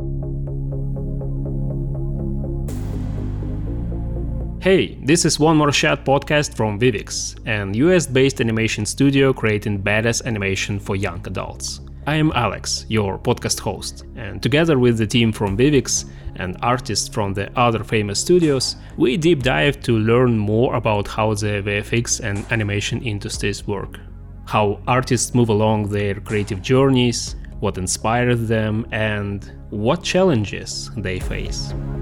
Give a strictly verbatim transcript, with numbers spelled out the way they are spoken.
Hey, this is One More Shot podcast from Vivix, an U S-based animation studio creating badass animation for young adults. I am Alex, your podcast host, and together with the team from Vivix and artists from the other famous studios, we deep dive to learn more about how the V F X and animation industries work, how artists move along their creative journeys, what inspires them, and what challenges they face.